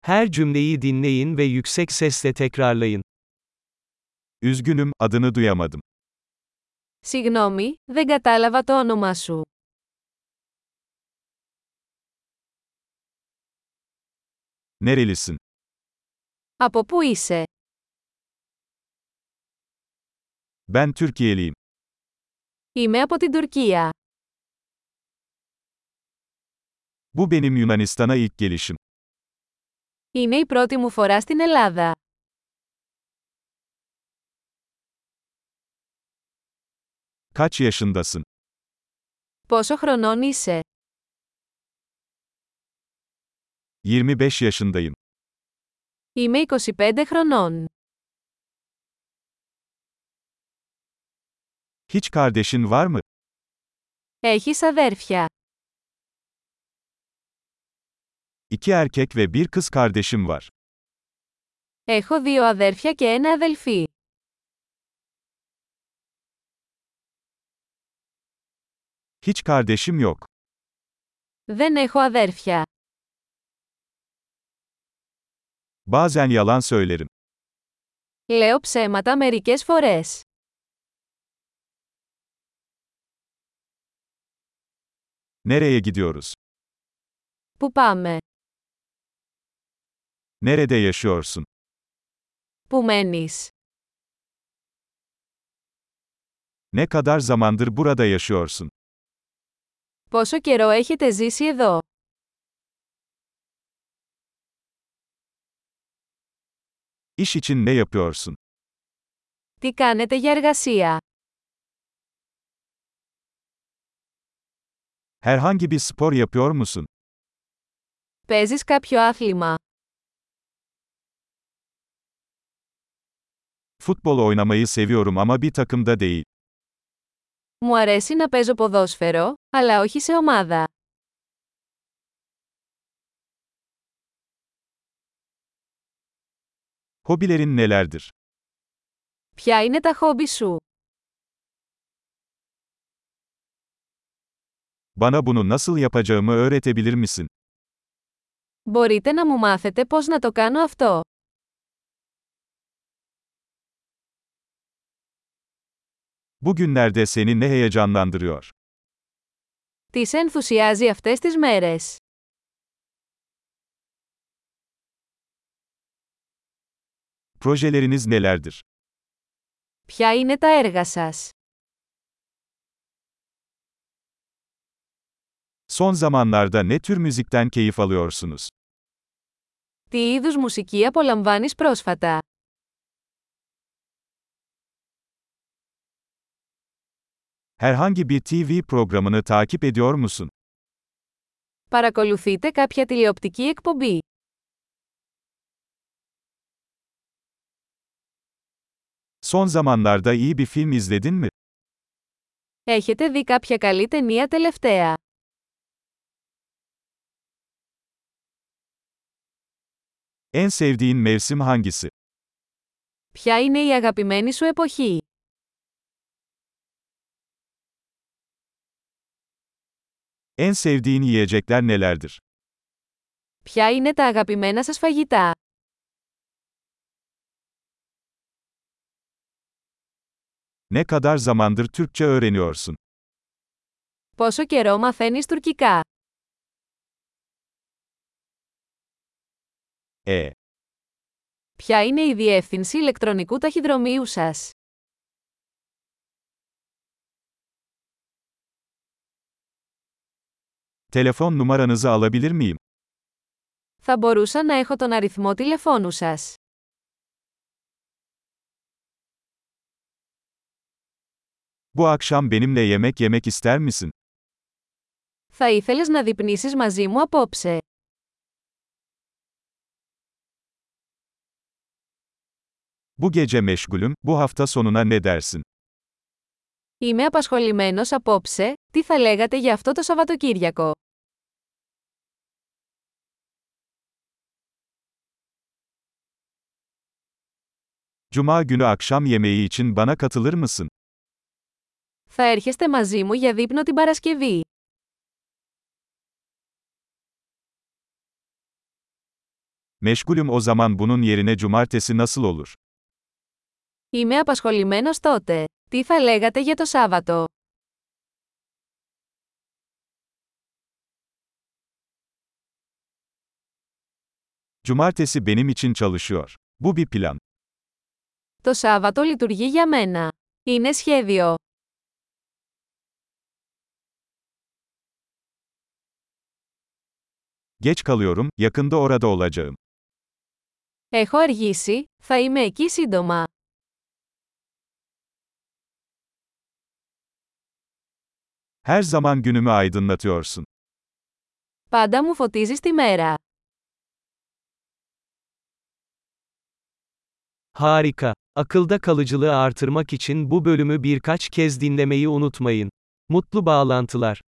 Her cümleyi dinleyin ve yüksek sesle tekrarlayın. Üzgünüm, adını duyamadım. Συγγνώμη, δεν κατάλαβα το όνομά σου. Nerelisin? Από πού είσαι? Ben Türkiye'liyim. Είμαι από την Τουρκία. Bu benim Yunanistan'a ilk gelişim. Είναι η πρώτη μου φορά στην Ελλάδα. Kaç yaşındasın? Πόσο χρονών είσαι? 25 yaşındayım. Είμαι 25 χρονών. Hiç kardeşin var mı? Έχεις αδέρφια? İki erkek ve bir kız kardeşim var. Έχω 2 αδέρφια και 1 αδελφή. Hiç kardeşim yok. Δεν έχω αδέρφια. Bazen yalan söylerim. Λέω ψέματα μερικές φορές. Nereye gidiyoruz? Πού πάμε? Nerede yaşıyorsun? Πού μένεις? Ne kadar zamandır burada yaşıyorsun? Πόσο καιρό έχετε ζήσει εδώ? İş için ne yapıyorsun? Τι κάνετε για εργασία? Herhangi bir spor yapıyor musun? Παίζεις κάποιο άθλημα? Futbol oynamayı seviyorum ama bir takımda değil. Μου αρέσει να παίζω ποδόσφαιρο, αλλά όχι σε ομάδα. Hobilerin nelerdir? Ποια είναι τα χόμπι σου? Bana bunu nasıl yapacağımı öğretebilir misin? Μπορείτε να μου μάθετε πώς να το κάνω αυτό? Bugünlerde seni ne heyecanlandırıyor? Τι σε ενθουσιάζει αυτές τις μέρες? Projeleriniz nelerdir? Ποια είναι τα έργα σας? Son zamanlarda ne tür müzikten keyif alıyorsunuz? Τι είδους μουσική απολαμβάνεις πρόσφατα? Herhangi bir TV programını takip ediyor musun? Παρακολουθείτε κάποια τηλεοπτική εκπομπή? Son zamanlarda iyi bir film izledin mi? Έχετε δει κάποια καλή ταινία τελευταία? En sevdiğin mevsim hangisi? Ποια είναι η αγαπημένη σου εποχή? En sevdiğin yiyecekler nelerdir? Ποια είναι τα αγαπημένα σας φαγητά? Ne kadar zamandır Türkçe öğreniyorsun? Πόσο καιρό μαθαίνεις τουρκικά? Ποια είναι η διεύθυνση ηλεκτρονικού ταχυδρομείου σας? Telefon numaranızı alabilir miyim? Θα μπορούσα να έχω τον αριθμό τηλεφώνου σας. Bu akşam benimle yemek yemek ister misin? Θα ήθελες να δειπνήσεις μαζί μου απόψε? Bu gece meşgulüm, bu hafta sonuna ne dersin? Είμαι απασχολημένος απόψε, τι θα λέγατε για αυτό το Σαββατοκύριακο? Cuma günü akşam yemeği için bana katılır mısın? Θα έρχεστε μαζί μου για δείπνο την Παρασκευή? Meşgulüm o zaman bunun yerine cumartesi nasıl olur? Είμαι απασχολημένος τότε. Τι θα λέγατε για το Σάββατο? Cumartesi benim için çalışıyor. Bu bir plan. Το Σάββατο λειτουργεί για μένα. Είναι σχέδιο. Geç kalıyorum, yakında orada olacağım. Έχω αργήσει, θα είμαι εκεί σύντομα. Her zaman günümü aydınlatıyorsun. Πάντα μου φωτίζεις τη μέρα. Harika. Akılda kalıcılığı artırmak için bu bölümü birkaç kez dinlemeyi unutmayın. Mutlu bağlantılar.